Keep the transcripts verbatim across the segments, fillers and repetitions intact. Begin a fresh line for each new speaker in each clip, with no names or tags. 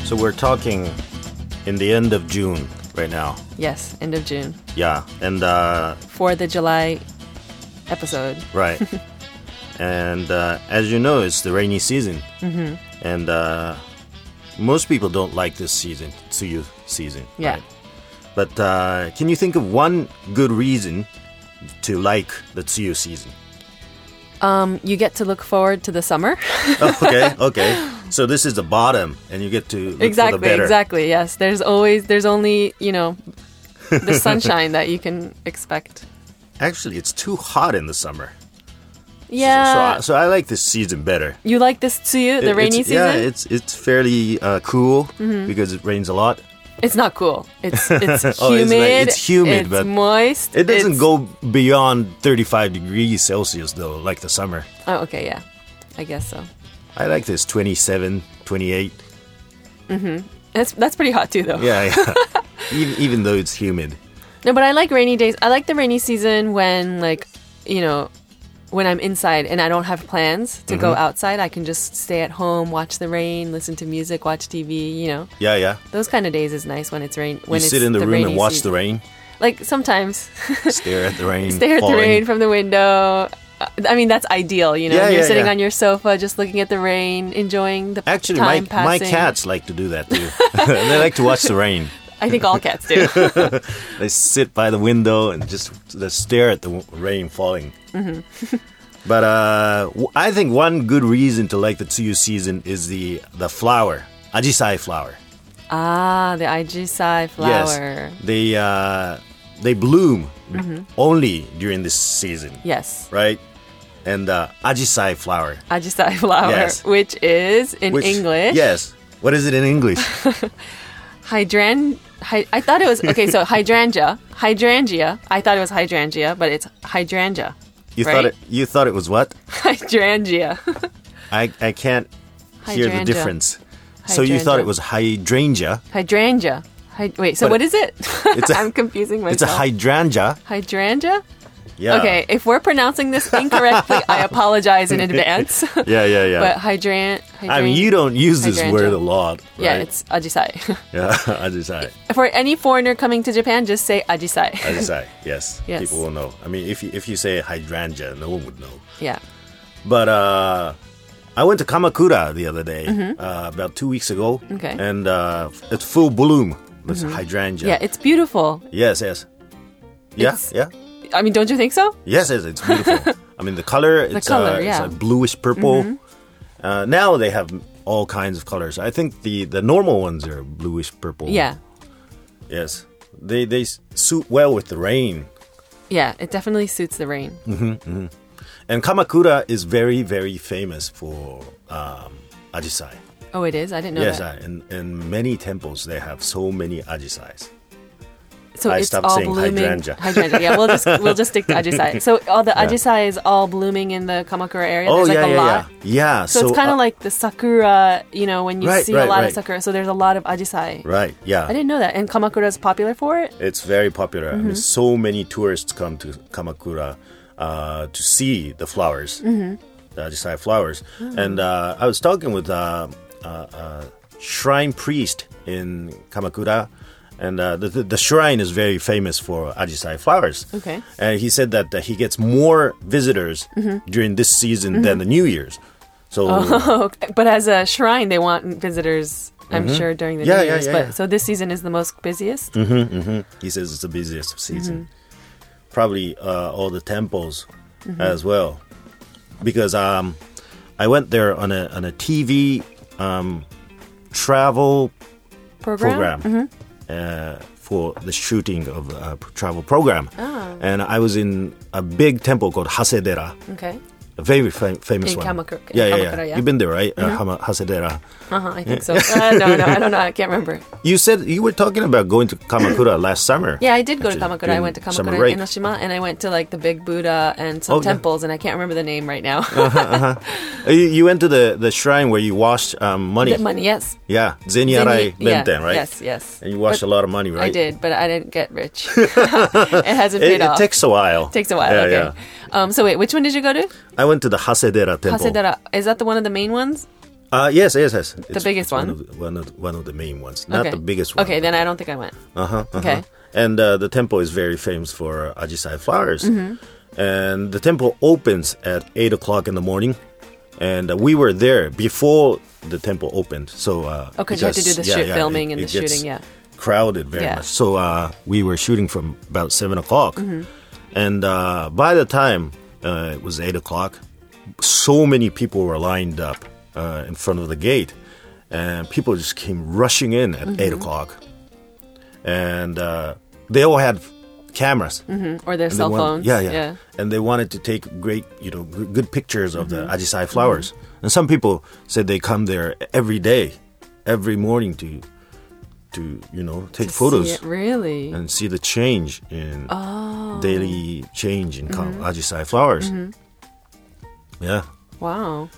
So we're talking in the end of June right now.
Yes, end of June.
Yeah, and uh,
For the July episode.
right. And uh, as you know, it's the rainy season. Mm-hmm. And uh, most people don't like this season, Tsuyu season.
Yeah.
Right? But uh, can you think of one good reason to like the Tsuyu season?
Um, you get to look forward to the summer.
Oh, okay, okay. So this is the bottom, and you get to look
Exactly,
for the better.
exactly. Yes, there's always there's only you know the sunshine that you can expect.
Actually, it's too hot in the summer.
Yeah.
So, so, I, so I like this season better.
You like this tsuyu, the
It-
rainy
it's,
season?
Yeah, it's it's fairly uh, cool
Mm-hmm.
because it rains a lot.
It's not cool. It's it's humid.
Oh, it's like- it's humid,
It's
but
moist.
It doesn't
it's,
go beyond thirty-five degrees Celsius though, like the summer.
Oh, okay, yeah, I guess so.
I like this twenty-seven, twenty-eight.
That's that's pretty hot too, though.
Yeah, yeah. even, even though it's humid.
No, but I like rainy days. I like the rainy season when, like, you know, when I'm inside and I don't have plans to
Mm-hmm.
go outside. I can just stay at home, watch the rain, listen to music, watch T V. You know,
Yeah, yeah.
those kind of days is nice when it's rain. When
You
it's
sit in the, room
rainy
and watch
season.
the rain,
Like sometimes,
stare at the rain,
stare at the
falling.
rain from the window. Uh, I mean, that's ideal. You know,
Yeah,
you're
yeah,
sitting
yeah.
on your sofa, just looking at the rain, enjoying the
Actually, my
time
my
passing.
cats like to do that too. They like to watch the rain.
I think all cats do.
They sit by the window and just they stare at the w- rain falling.
Mm-hmm.
But uh, w- I think one good reason to like the Tsuyu season is the the flower, ajisai flower.
Ah, the ajisai flower.
Yes, they uh, they bloom
Mm-hmm.
only during this season,
Yes.
right? And uh, ajisai flower,
Ajisai flower,
Yes.
which is in
which-
English.
Yes. What is it in English?
Hydran. Hy- I thought it was okay. So hydrangea, hydrangea. I thought it was hydrangea, but it's hydrangea.
You
right?
thought it. You thought it was what?
Hydrangea.
I I can't hear the
Hydrangea.
difference. So you thought it was hydrangea.
Hydrangea. Hy- Wait. So
But
what is it?
it's a-
I'm confusing myself.
It's a hydrangea.
hydrangea.
Yeah.
Okay. If we're pronouncing this incorrectly, I apologize in advance.
Yeah, yeah, yeah.
But hydran.
I mean, you don't use this
hydrangea.
word a lot, right?
Yeah, it's ajisai.
Yeah, ajisai.
For any foreigner coming to Japan, just say ajisai.
Ajisai, yes.
Yes.
People will know. I mean, if you, if you say hydrangea, no one would know.
Yeah.
But uh, I went to Kamakura the other day, uh, about two weeks ago.
Mm-hmm. Okay.
And uh, it's full bloom. It's hydrangea.
Yeah, it's beautiful.
Yes, yes. Yeah,
It's-
yeah.
I mean, don't you think so?
Yes, yes, it's beautiful. I mean, the color, it's,
color,
uh,
yeah.
it's like bluish purple. Uh, now they have all kinds of colors. I think the, the normal ones are bluish purple.
Yeah.
Yes. They they s- suit well with the rain.
Yeah, it definitely suits the rain.
And Kamakura is very, very famous for um, ajisai.
Oh, it is? I didn't know
Yes,
that.
I, in, in many temples they have so many ajisais.
So
I
it's
stopped
all
saying
blooming.
hydrangea.
Hydrangea. Yeah, we'll just we'll just stick to ajisai. So all the
Yeah.
ajisai is all blooming in the Kamakura area.
Oh,
There's
yeah,
like a
yeah,
lot.
yeah. Yeah,
So, it's kind of
uh,
like the sakura, you know, when you
Right,
see
right,
a lot
right.
of sakura. So there's a lot of ajisai.
Right, yeah.
I didn't know that. And Kamakura is popular for it?
It's very popular.
Mm-hmm.
I mean, so many tourists come to Kamakura uh, to see the flowers,
Mm-hmm.
the ajisai flowers. And uh, I was talking with uh, uh, uh, shrine priest in Kamakura, and uh, the, the, the shrine is very famous for ajisai flowers.
Okay.
And he said that uh, he gets more visitors during this season than the New Year's. So
Oh, okay. But as a shrine, they want visitors, I'm sure, during the
Yeah,
New
yeah,
Year's.
yeah,
but
yeah.
So this season is the most busiest?
he says it's the busiest season. Probably uh, all the temples as well, because um, I went there on a on a T V um, travel
Program?
program uh, for the shooting of a travel program, and I was in a big temple called Hasedera.
Okay.
A very fam- famous
In
one.
Kamakura- in
yeah, yeah,
Kamakura,
yeah,
yeah.
You've been there, right? Uh, Hama- Hasedera.
Uh-huh, I think so. Uh, no, no, I don't know. I can't remember.
You said you were talking about going to Kamakura last summer.
Yeah, I did go to
Actually,
Kamakura. I
during
went to
summer
Kamakura
break.
in Enoshima, and I went to like the big Buddha and some
Oh, yeah.
temples, and I can't remember the name right now.
Uh, You, you went to the, the shrine where you washed um, money.
The money, yes.
Yeah, Zenyarai
Then you- yeah,
Benten, right?
Yes, yes.
And you washed
But
a lot of money, right?
I did, but I didn't get rich. it hasn't
It,
paid
it
off.
takes a while.
Takes a while.
Yeah,
okay.
yeah.
Um, so wait, which one did you go to?
I went to the Hasedera temple.
Hasedera. Is that the one of the main ones?
Uh, yes, yes, yes.
The biggest one?
One of the, one of the, one of the main ones. Not
Okay.
the biggest one.
Okay, then I don't think I went.
Uh-huh, uh-huh.
Okay.
And uh, the temple is very famous for ajisai flowers.
Mm-hmm.
And the temple opens at eight o'clock in the morning. And uh, we were there before the temple opened. So, uh,
Oh, because you have to do the
yeah,
shoot,
yeah,
filming
it-
and the
it gets
shooting, yeah.
crowded very
Yeah.
much. So uh, we were shooting from about seven o'clock.
Mm-hmm.
And uh, by the time uh, it was eight o'clock, so many people were lined up uh, in front of the gate. And people just came rushing in at
Mm-hmm.
eight o'clock. And uh, they all had cameras.
Mm, or their
And they
cell
want-
phones.
Yeah, yeah, And they wanted to take great, you know, good, good pictures of
Mm-hmm.
the ajisai flowers. And some people said they come there every day, every morning to, to you know, take
To see
photos
it, really?
and see the change in
Oh.
daily change in
Mm-hmm.
ajisai flowers. Yeah.
Wow.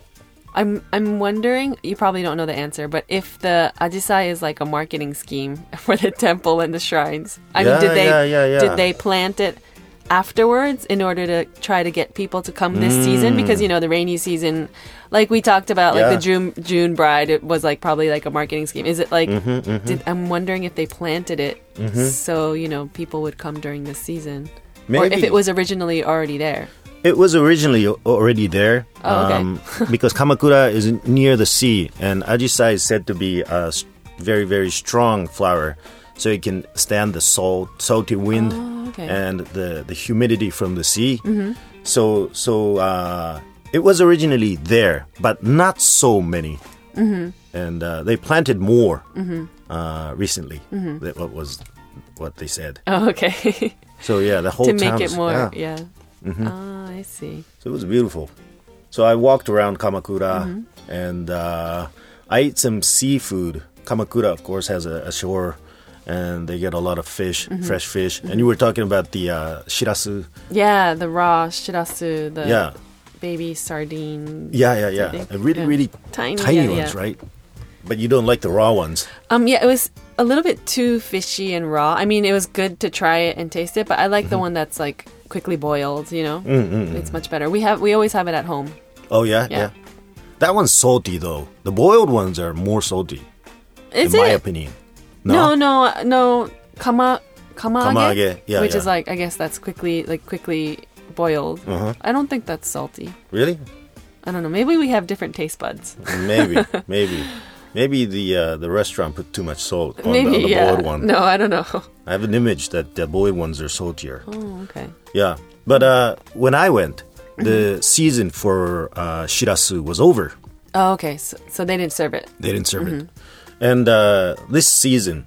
I'm I'm wondering, you probably don't know the answer, but if the ajisai is like a marketing scheme for the temple and the shrines. I
Yeah,
mean, did they
yeah, yeah, yeah.
did they plant it afterwards in order to try to get people to come this season? Because you know the rainy season, like we talked about, like
Yeah.
the June June bride, it was like probably like a marketing scheme. Is it like?
Mm-hmm,
Did, I'm wondering if they planted it so you know people would come during this season, or if
Maybe.
it was originally already there.
It was originally o- already there
Oh, okay.
because Kamakura is near the sea, and ajisai is said to be a s- very, very strong flower, so it can stand the salt, salty wind
Oh, okay.
and the, the humidity from the sea.
Mm-hmm.
So, so uh, it was originally there, but not so many. Mm-hmm. And uh, they planted more
Mm-hmm.
uh, recently. That what was what they said.
Oh, okay.
So yeah, the whole
To make
town
it
is-
more,
yeah.
yeah. Ah, I see.
So it was beautiful. So I walked around Kamakura
Mm-hmm.
and uh, I ate some seafood. Kamakura, of course, has a, a shore and they get a lot of fish,
Mm-hmm.
fresh fish. And you were talking about the uh, shirasu.
Yeah, the raw shirasu, the
Yeah.
baby sardine.
Yeah, yeah, yeah.
think,
And really,
yeah.
really
Tiny,
tiny
yeah,
ones,
yeah.
right? But you don't like the raw ones.
Um, yeah, it was a little bit too fishy and raw. I mean, it was good to try it and taste it, but I like the
Mm-hmm.
one that's like quickly boiled. You know,
Mm-mm.
it's much better. We have we always have it at home.
Oh, yeah,
Yeah.
yeah. That one's salty, though. The boiled ones are more salty,
Is
in my
it?
opinion.
No, no, no. Kama kamaage,
Kamaage, yeah,
which
yeah.
is like I guess that's quickly like quickly boiled.
Uh-huh.
I don't think that's salty.
Really?
I don't know. Maybe we have different taste buds.
Maybe, maybe. Maybe the uh, the restaurant put too much salt on,
Maybe
the, on the
yeah.
boiled one.
No, I don't know.
I have an image that the boiled ones are saltier.
Oh, okay.
Yeah, but uh, when I went,
Mm-hmm.
the season for uh, shirasu was over.
Oh, okay. So, so they didn't serve it.
They didn't serve
Mm-hmm.
it, and uh, this season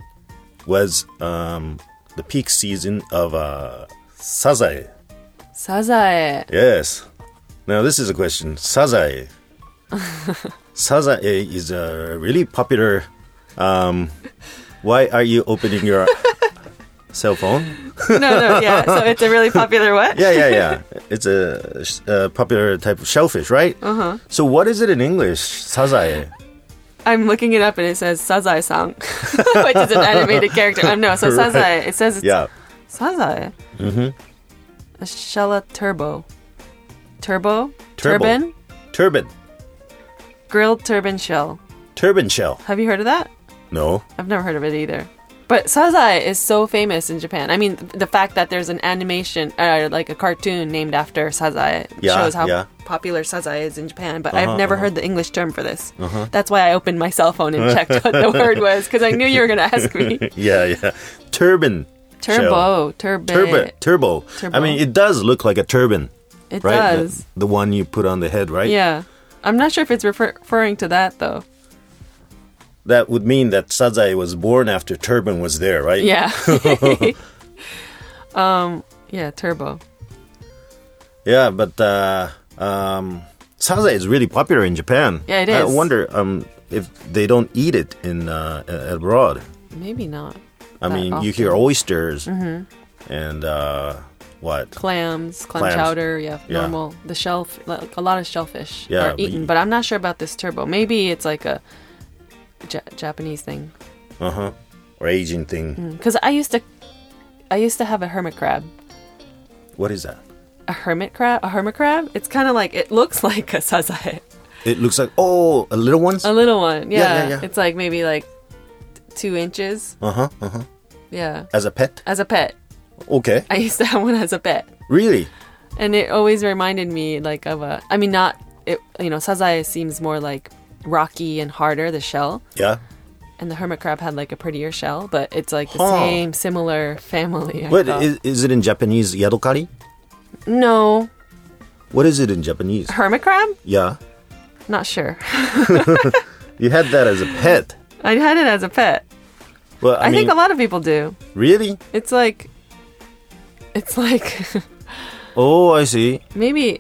was um, the peak season of uh, sazae.
Sazae.
Yes. Now this is a question. Sazae. Sazae is a really popular. Um, why are you opening your cell phone?
No, no, yeah. So it's a really popular what?
Yeah, yeah, yeah. It's a, a popular type of shellfish, right? Uh huh. So what is it in English? Sazae.
I'm looking it up and it says Sazae-san, which is an animated character. Um, no, so Sazae. It says it's
Yeah.
Sazae. Mm-hmm. A Shella turbo. Turbo?
Turbo.
Turban?
Turban.
Grilled turban shell.
Turban shell.
Have you heard of that?
No.
I've never heard of it either. But Sazae is so famous in Japan. I mean, th- the fact that there's an animation, uh, like a cartoon named after Sazae,
Yeah,
shows how
yeah.
popular Sazae is in Japan. But
Uh-huh,
I've never
uh-huh.
heard the English term for this. That's why I opened my cell phone and checked what the word was, because I knew you were going to ask me.
Yeah, yeah. Turban. shell.
Turbo, turbo.
Turban. Turbo.
Turbo.
I mean, it does look like a turban,
It
right?
does.
The, the one you put on the head, right?
Yeah. I'm not sure if it's refer- referring to that, though.
That would mean that Sazae was born after turban was there, right?
Yeah. um. Yeah, turbo.
Yeah, but uh, um, Sazae is really popular in Japan.
Yeah, it
I
is.
wonder um, if they don't eat it in uh, a- abroad.
Maybe not.
I
that
mean, you
often.
hear oysters and uh, what?
Clams, clam
Clams.
chowder, yeah,
Yeah.
normal. The shell, like a lot of shellfish
Yeah,
are
but
eaten,
you-
but I'm not sure about this turbo. Maybe it's like a ja- Japanese thing.
Uh huh. Or Asian thing.
Because I used to, I used to have a hermit crab.
What is that?
A hermit crab? A hermit crab? It's kind of like, it looks like a sazae.
It looks like, oh, a little ones?
A little one, yeah.
Yeah, yeah, yeah.
It's like maybe like two inches.
Uh-huh, uh-huh.
Yeah.
As a pet?
As a pet.
Okay.
I used to have one as a pet.
Really?
And it always reminded me like of a, I mean, not, it, you know, sazae seems more like rocky and harder, the shell.
Yeah.
And the hermit crab had like a prettier shell, but it's like the
Huh.
same, similar family. I
What,
thought.
is, is it in Japanese yadokari?
No.
What is it in Japanese?
Hermit crab?
Yeah.
Not sure.
You had that as a pet.
I had it as a pet.
Well, I,
I,
mean,
think a lot of people do.
really?
It's like, it's like,
Oh, I see.
maybe,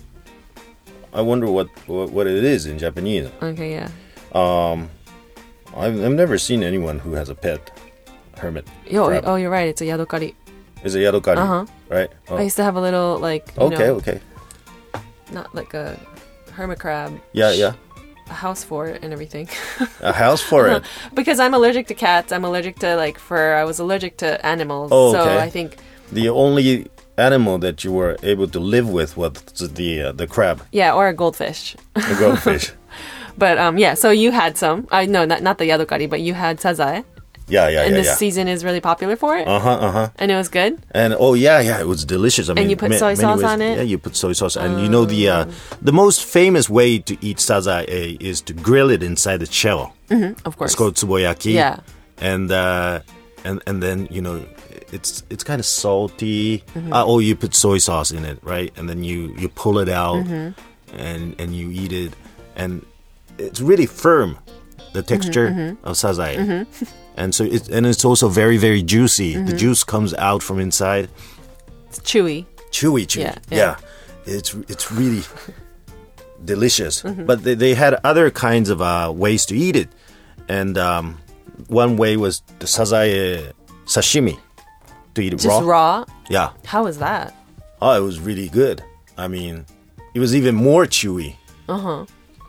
I wonder what, what, what it is in Japanese.
okay, yeah.
Um, I've, I've never seen anyone who has a pet hermit
Yo,
crab.
oh, you're right. It's a yadokari.
It's a yadokari,
Uh-huh.
right? Oh.
I used to have a little, like, you
Okay,
know,
okay.
not like a hermit crab.
Yeah, yeah.
A house for it and everything.
A house for it.
Because I'm allergic to cats. I'm allergic to, like, fur. I was allergic to animals.
Oh,
So
okay.
I think,
The only animal that you were able to live with was the uh, the crab,
yeah, or a goldfish.
the goldfish.
But, um, yeah, so you had some. I No, not, not the yadokari, but you had sazae.
Yeah, yeah,
And
yeah,
this
yeah.
season is really popular for it.
Uh huh, uh huh.
And it was good.
And oh yeah, yeah, it was delicious. I mean,
you put
ma-
soy
many
sauce
ways-
on it?
Yeah, you put soy sauce, and you know the uh, the most famous way to eat sazae is to grill it inside the shell.
Of course.
It's called tsuboyaki.
Yeah.
And uh, and and then you know it's it's kind of salty.
Mm-hmm.
Uh, oh, you put soy sauce in it, right? And then you you pull it out
Mm-hmm.
and and you eat it, and it's really firm. The texture
Mm-hmm,
of sazae, and so it and it's also very very juicy.
Mm-hmm.
The juice comes out from inside.
It's chewy.
Chewy, chewy.
Yeah,
Yeah,
yeah.
it's it's really delicious.
Mm-hmm.
But they, they had other kinds of uh, ways to eat it, and um, one way was the sazae sashimi, to eat it
Just
raw.
raw.
Yeah.
How was that?
Oh, it was really good. I mean, it was even more chewy.
Uh huh.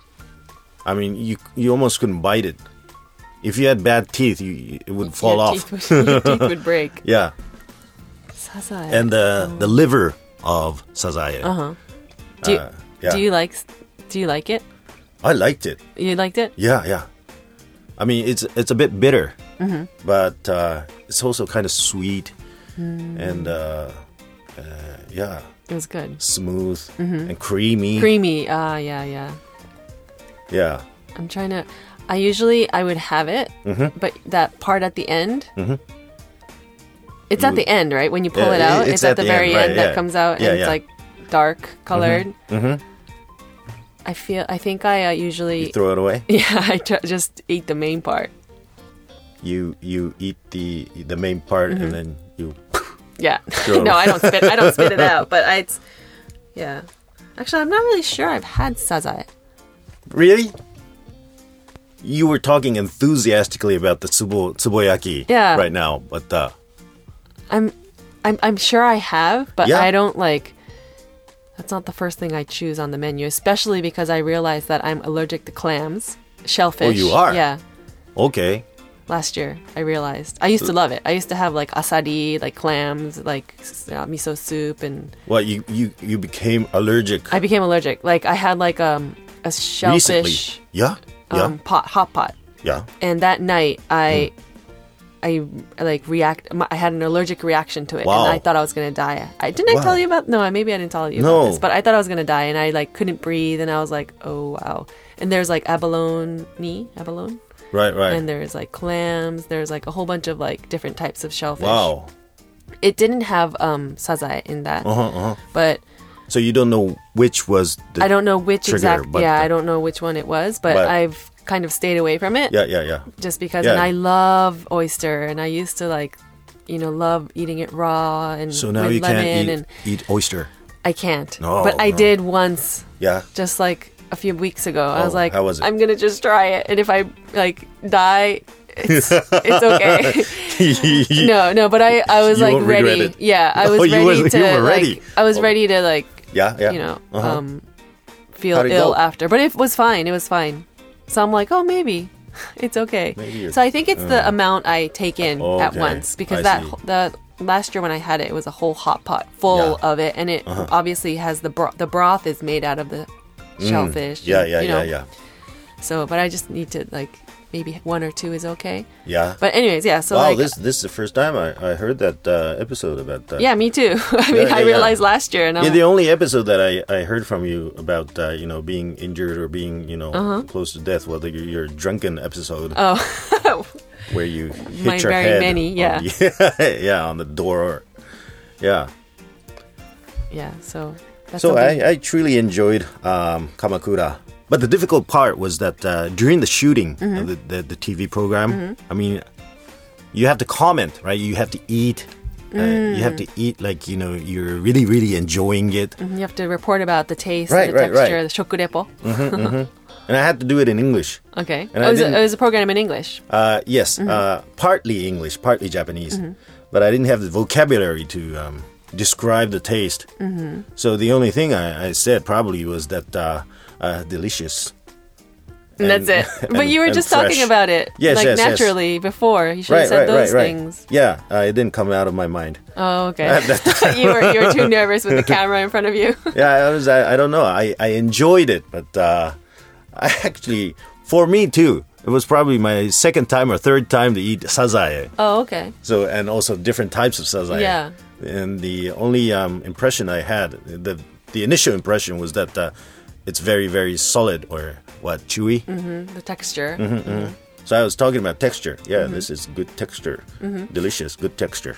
I mean, you you almost couldn't bite it. If you had bad teeth, you, it would fall
your
off.
Teeth would, your teeth would break.
Yeah,
Sazae.
and the the liver of sazae.
Uh huh. Do you,
Uh, yeah.
do you like do you like it?
I liked it.
You liked it?
Yeah, yeah. I mean, it's it's a bit bitter,
Mm-hmm.
but uh, it's also kind of sweet
Mm.
and uh, uh, yeah,
It was good.
smooth and creamy.
Creamy. Ah, yeah, yeah.
Yeah.
I'm trying to. I usually I would have it,
Mm-hmm.
but that part at the end. It's
You
at the
would-
end, right? When you pull
Yeah,
it out,
it's
it's, at,
at
the,
the
very
end, right,
end that
yeah.
comes out,
Yeah,
and
yeah.
it's like dark colored.
Mm-hmm.
I feel. I think I uh, usually.
You throw it away.
Yeah, I tr- just eat the main part.
You you eat the the main part
Mm-hmm.
and then you.
Yeah.
Throw it
no,
away.
I don't spit. I don't spit it out. But I, it's. Yeah. Actually, I'm not really sure I've had sazae.
Really? You were talking enthusiastically about the tsubo tsuboyaki
Yeah.
right now, but uh,
I'm, I'm, I'm sure I have, but
Yeah.
I don't like. That's not the first thing I choose on the menu, especially because I realized that I'm allergic to clams, shellfish.
Oh, you are?
Yeah.
okay.
Last year, I realized. I used to love it. I used to have like asari, like clams, like uh, miso soup, and
Well, you, you, you became allergic
I became allergic. Like I had like um a
recently.
shellfish
Yeah, yeah,
um, pot, hot pot,
yeah.
and that night I.
Hmm.
I like react. my- I had an allergic reaction to it,
Wow.
and I thought I was gonna die. I didn't I
Wow.
tell you about? No, maybe I didn't tell you
No.
about this, but I thought I was gonna die, and I like couldn't breathe, and I was like, oh wow. And there's like abalone, abalone,
Right, right.
and there's like clams. There's like a whole bunch of like different types of shellfish.
Wow.
It didn't have um sazae in that,
Uh huh. Uh-huh.
but
So you don't know which was the.
I don't know which
trigger,
exact.
but
Yeah,
the-
I don't know which one it was, but,
But-
I've kind of stayed away from it.
Yeah, yeah, yeah.
Just because,
Yeah.
and I love oyster, and I used to like, you know, love eating it raw and
So now
with
you
lemon,
can't eat,
and
eat oyster.
I can't.
No,
but I
no.
did once,
Yeah.
just like a few weeks ago. I
Oh,
was like,
how was it?
I'm gonna just try it, and if I like die, it's it's okay. no, no, but I I was
You
like
won't regret
ready.
it.
Yeah, I
Oh,
was
you
ready
were-
to.
you were
like,
ready.
I was
Oh.
ready to like,
Yeah, yeah.
you know,
Uh-huh.
um, feel
How'd it
ill
go?
after. But it was fine. It was fine. So I'm like, oh, maybe it's okay.
Maybe you're-
so I think it's the amount I take in at
Okay,
once, because
I
that
see.
the last year when I had it, it was a whole hot pot full
Yeah.
of it, and it
Uh-huh.
obviously has the bro- the broth is made out of the shellfish.
Yeah, yeah,
you know?
yeah, yeah.
So, but I just need to like maybe one or two is okay.
Yeah.
But anyways, yeah. So
wow,
like,
this this is the first time I, I heard that uh, episode about that.
yeah, me too. I mean,
Yeah,
I
yeah,
realized
yeah.
last year, and I'm
Yeah, the only episode that I, I heard from you about uh, you know being injured or being you know
Uh-huh.
close to death was the, your drunken episode
oh,
where you hit
My
your
very
head
many,
on
yeah.
the, yeah on the door. Yeah.
yeah. So that's
So
something-
I, I truly enjoyed um, Kamakura. But the difficult part was that uh, during the shooting
Mm-hmm.
of the, the, the T V program, I mean, you have to comment, right? You have to eat. Uh,
Mm.
You have to eat like, you know, you're really, really enjoying it.
you have to report about the taste,
Right,
the
right,
texture,
right.
the shokurepo.
And I had to do it in English.
Okay.
And
oh,
I
it, was a,
didn't-
it was a program in English.
Uh, yes,
Mm-hmm.
uh, partly English, partly Japanese. But I didn't have the vocabulary to um, describe the taste.
Mm-hmm.
So the only thing I, I said probably was that uh, uh, delicious.
And that's it.
and-
But you were
and
just
fresh.
talking about it
Yes,
like
yes, yes.
naturally before. You should
Right,
have said
right,
those
right, right.
things.
Yeah, uh, it didn't come out of my mind.
Oh, okay. you were you were too nervous with the camera in front of you.
Yeah, I was. I, I don't know. I, I enjoyed it, but uh, I actually, for me too, it was probably my second time or third time to eat sazae.
Oh, okay.
So and also different types of sazae.
Yeah.
And the only um, impression I had, the the initial impression was that uh, it's very very solid or what chewy.
Mm, the texture.
Mm-hmm. So I was talking about texture. Yeah,
Mm-hmm.
this is good texture, delicious, good texture.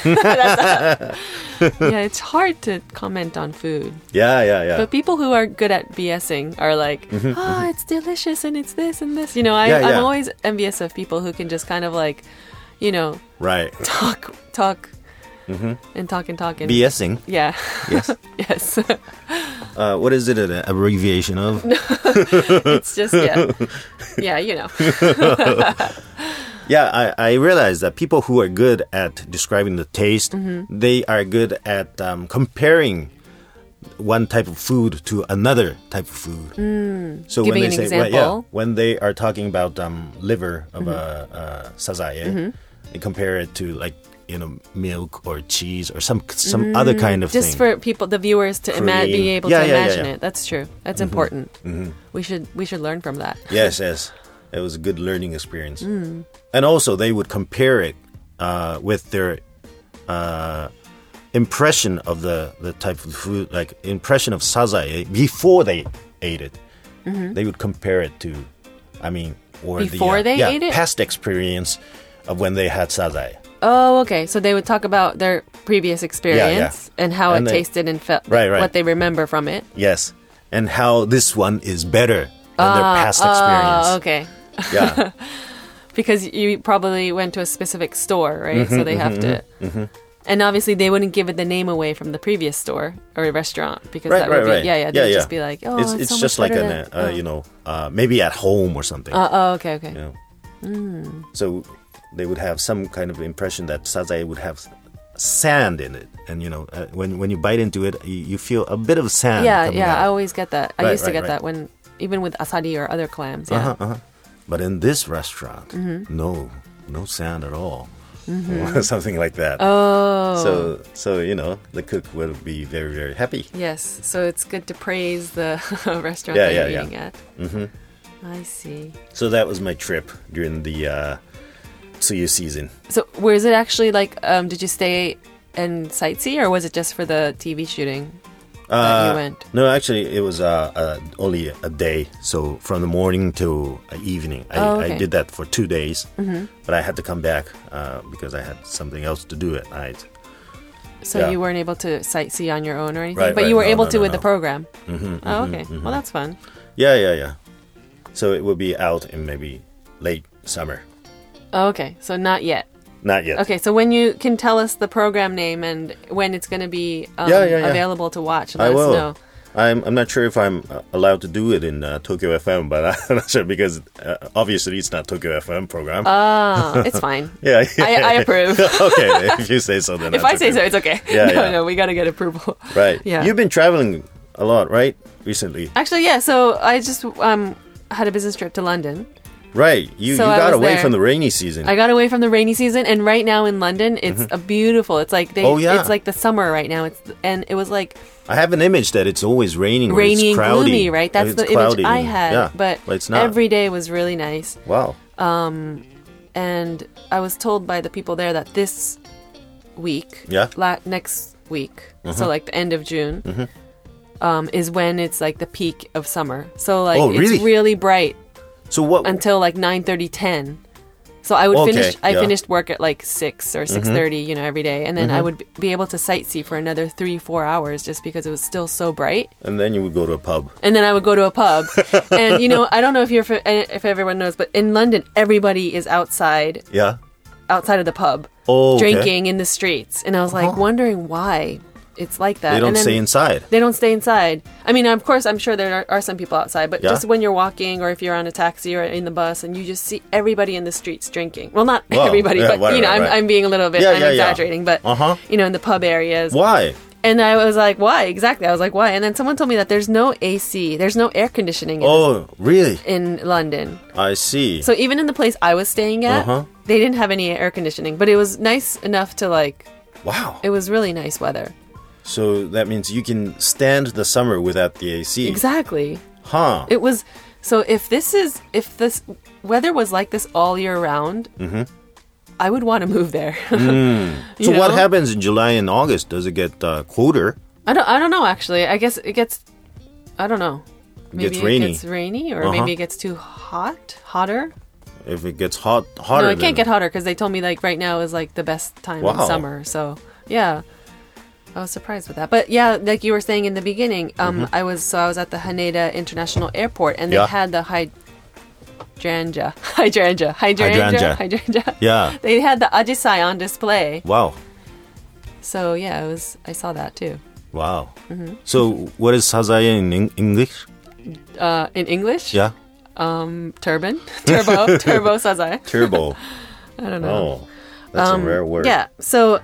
Yeah, it's hard to comment on food.
Yeah, yeah, yeah.
But people who are good at BSing are like, oh, it's delicious and it's this and this. You know, I,
Mm-hmm, Yeah, yeah.
I'm always envious of people who can just kind of like, you know,
Right.
talk, talk,
Mm-hmm.
and talk and talk. And,
BSing.
Yeah.
Yes.
yes.
Uh, what is it an abbreviation of?
It's just, yeah. Yeah, you know.
Yeah, I, I realize that people who are good at describing the taste,
Mm-hmm.
they are good at um, comparing one type of food to another type of food. So
Mm. Giving
when
an
they say, well, yeah,
example. Mm-hmm.
when they are talking about um, liver of a uh, sazae, they compare it to like you know milk or cheese or some some other kind of
Mm, Just
thing.
for people, the viewers, to ima-
Cream.
be able
Yeah,
to
yeah, yeah,
imagine
yeah.
it. That's true. That's important. We should we should learn from that.
Yes, yes. It was a good learning experience.
Mm.
And also, they would compare it uh, with their uh, impression of the, the type of food, like impression of sazae before they ate it.
Mm-hmm.
They would compare it to, I mean, or
Before
the, uh,
they
yeah,
ate it?
past experience of when they had sazae.
Oh, okay. So they would talk about their previous experience and how
And
it
they-
tasted and felt,
Right, right.
what they remember from it.
Yes. And how this one is better than their past experience.
Oh, okay.
Yeah.
Because you probably went to a specific store, right?
Mm-hmm,
so they have to. And obviously, they wouldn't give it the name away from the previous store or restaurant because
Right,
that
right,
would be
right.
yeah, yeah. They would just be like, oh,
it's,
it's,
it's
so
just
much
like
better
an,
than-
uh, you know, uh, maybe at home or something.
Uh, oh, okay, okay.
you know.
Mm.
So they would have some kind of impression that sazae would have sand in it, and you know, uh, when when you bite into it, you, you feel a bit of sand.
Yeah,
coming
yeah.
out.
I always get that. I
Right,
used to
right,
get
right.
that when even with asari or other clams. Yeah.
Uh-huh, uh-huh. But in this restaurant,
Mm-hmm.
no, no sand at all, something like that.
Oh.
So so you know, the cook will be very very happy.
Yes, so it's good to praise the restaurant
Yeah,
that
yeah,
you're
yeah.
eating at. Mm-hmm. I see.
So that was my trip during the uh, Tsuyu season.
So, was it actually like? Um, did you stay and sightsee, or was it just for the T V shooting that
Uh,
you went?
No, actually, it was uh, uh, only a day. So from the morning to uh, evening, I,
Oh, okay.
I did that for two days. Mm-hmm. But I had to come back uh, because I had something else to do at night.
So
yeah.
you weren't able to sightsee on your own or anything,
Right,
but
right.
you were
No,
able
no,
to
no,
with
no.
the program.
Mm-hmm,
Oh, okay. Well, that's fun.
Yeah, yeah, yeah. So it will be out in maybe late summer.
Oh, okay, so not yet.
Not yet.
Okay, so when you can tell us the program name and when it's going to be um,
Yeah, yeah, yeah.
available to watch, let
I
us
will.
know.
I'm, I'm not sure if I'm uh, allowed to do it in uh, Tokyo F M, but I'm not sure because uh, obviously it's not Tokyo F M program.
Oh, it's fine.
yeah,
I, I approve.
Okay, if you say so, then
If
that's
I say
okay.
so, it's okay.
Yeah,
no,
yeah.
no, we got to get approval.
Right.
Yeah.
You've been traveling a lot, right? Recently.
Actually, yeah. So I just um had a business trip to London.
Right. You,
So
you
I
got
was
away
there.
from the rainy season.
I got away from the rainy season, and right now in London, it's a beautiful. It's like they.
Oh, yeah.
It's like the summer right now. It's and it was like
I have an image that it's always raining. Or
Rainy
it's
and
cloudy.
gloomy, right? That's
It's
the
cloudy.
image I had.
Yeah,
but
it's not.
every day was really nice.
Wow.
And I was told by the people there that this week,
Yeah.
la- next week, so like the end of June, um, is when it's like the peak of summer. So like
Oh, really?
it's really bright
So what?
until like nine thirty, ten. So I would
Okay,
finish. I
yeah.
finished work at like six or six thirty, you know, every day, and then I would b- be able to sightsee for another three, four hours just because it was still so bright.
And then you would go to a pub.
And then I would go to a pub, and you know, I don't know if you're if everyone knows, but in London, everybody is outside,
Yeah.
outside of the pub,
Oh, okay.
drinking in the streets, and I was like
Uh-huh.
wondering why it's like that.
They don't
and then
stay inside.
They don't stay inside. I mean, of course, I'm sure there are, are some people outside, but
Yeah.
just when you're walking or if you're on a taxi or in the bus and you just see everybody in the streets drinking. Well, not
Well,
everybody,
yeah,
but
right,
you know,
right,
I'm,
right.
I'm being a little bit,
Yeah,
I'm
yeah, yeah.
exaggerating, but
Uh-huh.
you know, in the pub areas.
Why?
And I was like, why? Exactly. I was like, why? And then someone told me that there's no A C, there's no air conditioning in,
Oh, really?
in London.
I see.
So even in the place I was staying at,
Uh-huh.
they didn't have any air conditioning, but it was nice enough to like,
Wow.
it was really nice weather.
So that means you can stand the summer without the A C.
Exactly.
Huh.
It was, so if this is, if this weather was like this all year round, I would want to move there.
So
You
what
know?
happens in July and August? Does it get uh, colder?
I don't, I don't know actually. I guess it gets, I don't know. Maybe
gets rainy.
It gets rainy or
Uh-huh.
maybe it gets too hot, hotter.
If it gets hot, hotter.
No, it can't
than-
get hotter because they told me like right now is like the best time in
Wow.
summer. So yeah, I was surprised with that. But yeah, like you were saying in the beginning, um, I was so I was at the Haneda International Airport and they
Yeah.
had the hydrangea, hydrangea, hydrangea,
Hydrangea.
hydrangea.
Yeah.
They had the ajisai on display.
Wow.
So yeah, it was. I saw that too.
Wow.
Mm-hmm.
So what is sazae in Eng- English?
Uh, in English,
Yeah.
um, turban, turbo, turbo sazai.
Turbo.
I don't know.
Oh, that's a rare word.
Yeah. So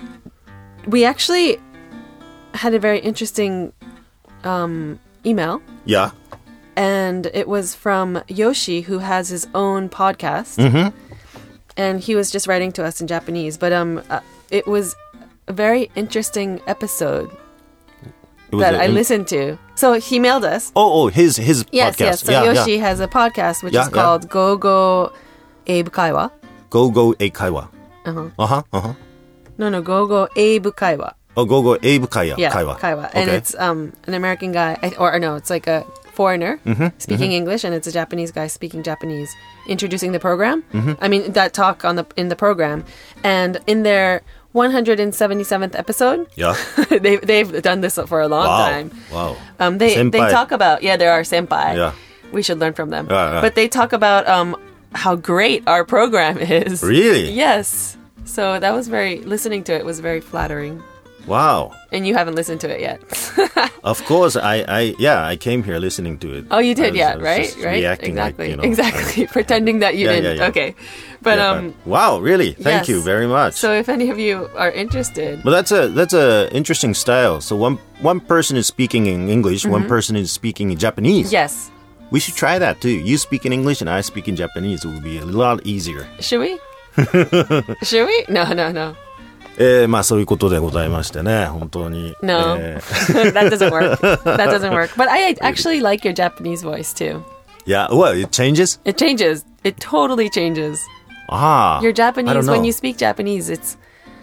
we actually had a very interesting um, email,
Yeah.
and it was from Yoshi, who has his own podcast,
Mm-hmm.
and he was just writing to us in Japanese. But um, uh, it was a very interesting episode
It was
that
a-
I listened to. So he mailed us.
Oh, oh, his his
Yes,
podcast.
yes. So
yeah,
Yoshi
yeah.
has a podcast which
Yeah,
is
yeah.
called Go Go Abe Kaiwa.
Go Go Eikaiwa.
Uh-huh.
Uh huh. Uh huh.
No, no, Go Go Abe Kaiwa.
Oh, Go Go Abe Kaya.
Yeah,
Kaiwa.
Kaiwa. And
Okay.
it's um an American guy, I- or, or no, it's like a foreigner speaking English, and it's a Japanese guy speaking Japanese, introducing the program. I mean, that talk on the in the program, and in their one hundred seventy-seventh episode,
Yeah.
they they've done this for a long
Wow.
time.
Wow.
Um, they they
Senpai.
talk about yeah, there are senpai.
Yeah.
We should learn from them.
Yeah, yeah.
But they talk about um how great our program is.
Really?
Yes. So that was very listening to it was very flattering.
Wow.
And you haven't listened to it yet.
Of course, I, I, yeah, I came here listening to it.
Oh, you
I
did,
was-
yeah,
I was
right,
just
right,
reacting
exactly,
like, you know,
exactly, pretending that you
Yeah,
didn't.
yeah, yeah.
Okay, but
yeah,
um,
wow, really? Thank
yes.
you very much.
so if any of you are interested,
But that's a that's a interesting style. So one one person is speaking in English, one person is speaking in Japanese.
Mm-hmm. yes,
We should try that too. You speak in English and I speak in Japanese. It would be a lot easier.
should we? Should we? No, no, no,
えー、まあそういうことでございましてね、本当に。
no.
えー
That doesn't work. That doesn't work. But I actually like your Japanese voice too.
yeah, well, it changes.
It changes. It totally changes.
Ah,
Your
I don't
Japanese
know.
when you speak Japanese, it's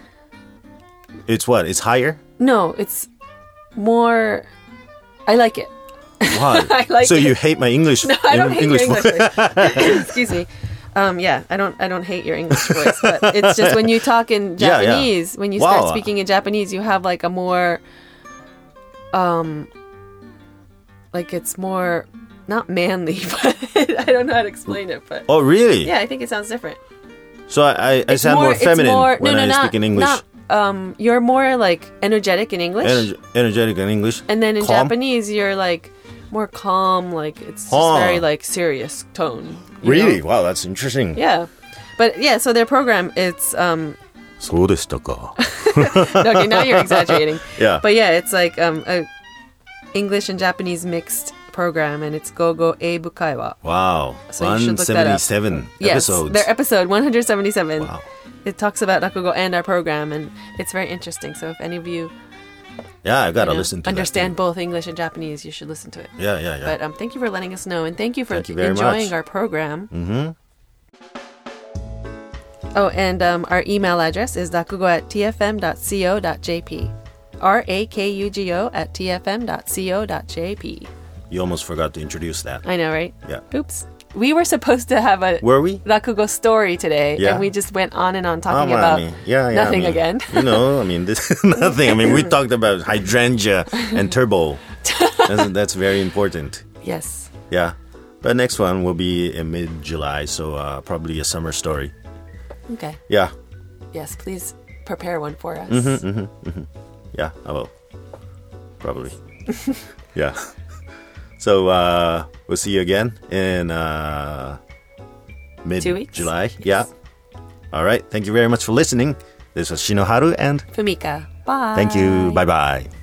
It's what? It's higher.
no, it's more. I like it.
Why?
I like
so
it.
you hate my English?
No, I don't hate
English
your English voice. Excuse me. Um, yeah, I don't. I don't hate your English voice, but it's just when you talk in
Yeah, yeah.
Japanese, when you
Wow.
start speaking in Japanese, you have like a more, um, like it's more not manly, but I don't know how to explain it. But
Oh, really?
yeah, I think it sounds different.
So I, I, I
It's
sound more,
it's
feminine
more-
when
no, no,
I
not,
speak in English.
Not, um, you're more like energetic in English,
Ener- energetic in English.
and then in
Calm?
Japanese, you're like more calm. Like it's just
Huh.
very like serious tone. you
Really?
know?
Wow, that's interesting.
Yeah. But yeah, so their program, it's, um,
そうでしたか。
okay, now you're exaggerating.
Yeah.
But yeah, it's like um, a English and Japanese mixed program, and it's Gogo Eibu Kaiwa.
Wow.
So you should look that up.
one seventy-seven
Yes,
episodes.
their episode one hundred seventy-seven.
Wow.
It talks about Rakugo and our program, and it's very interesting. So if any of you
Yeah, I gotta
you know,
listen to
understand
that too.
both English and Japanese, you should listen to it.
Yeah, yeah, yeah.
But um, thank you for letting us know, and thank you for
Thank you very
enjoying
much.
our program.
Mm-hmm.
Oh, and um, our email address is rakugo at t f m dot co dot j p. R A K U G O at t f m dot co dot j p.
You almost forgot to introduce that.
I know, right?
Yeah.
Oops. We were supposed to have a
Were we?
rakugo story today,
Yeah.
and we just went on and on talking
Um,
about
I mean, yeah, yeah,
nothing
I mean,
again.
You know, I mean, this is nothing. I mean, we talked about hydrangea and turbo. That's, that's very important.
Yes.
Yeah. But next one will be in mid-July, so uh, probably a summer story.
Okay.
Yeah.
Yes, please prepare one for us.
Mm-hmm, mm-hmm, mm-hmm. Yeah, I will. Probably. Yeah. So uh, we'll see you again in uh, mid-July.
Yes.
Yeah. All right. Thank you very much for listening. This was Shinoharu and
Fumika. Bye.
thank you. Bye-bye.